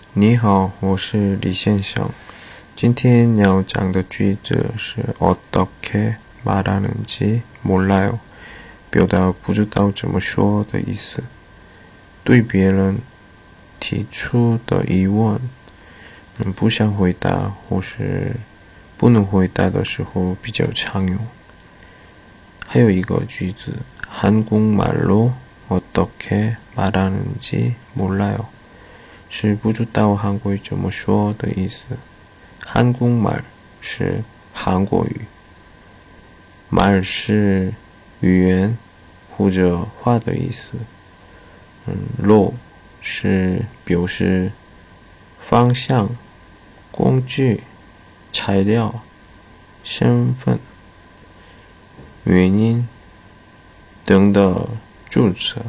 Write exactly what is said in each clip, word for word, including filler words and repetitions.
你好，我是李先生。今天要讲的句子是어떻게 말하는지 몰라요，表达不知道怎么说的意思。对别人提出的疑问，嗯，不想回答或是不能回答的时候比较常用。还有一个句子，한국말로 어떻게 말하는지 몰라요，是不知道韩国语怎么说的意思。한국말是韩国语，말是语言或者话的意思。嗯，로是表示方向、工具、材料、身份、原因等的助词。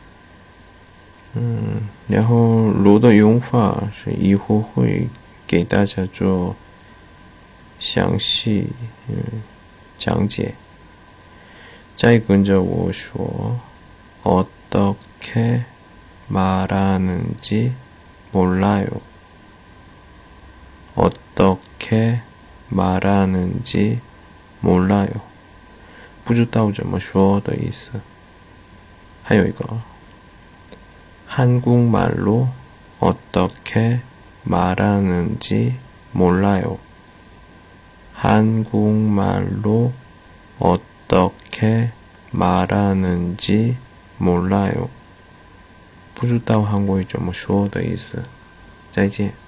嗯，然后罗的用法是以后会给大家做详细嗯讲解。再跟着我说어떻게 말하는지 몰라요. 어떻게 말하는지 몰라요. 不知道怎么说的意思。还有一个한국말로 어떻게 말하는지 몰라요. 한국말로 어떻게 말하는지 몰라요. 不知道韩国语怎么说的意思。再见。